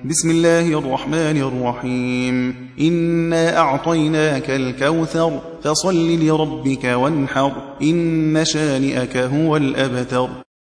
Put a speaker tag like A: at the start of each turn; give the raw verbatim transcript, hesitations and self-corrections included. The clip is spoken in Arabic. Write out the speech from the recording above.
A: بسم الله الرحمن الرحيم إنا أعطيناك الكوثر فصل لربك وانحر إن شانئك هو الأبتر.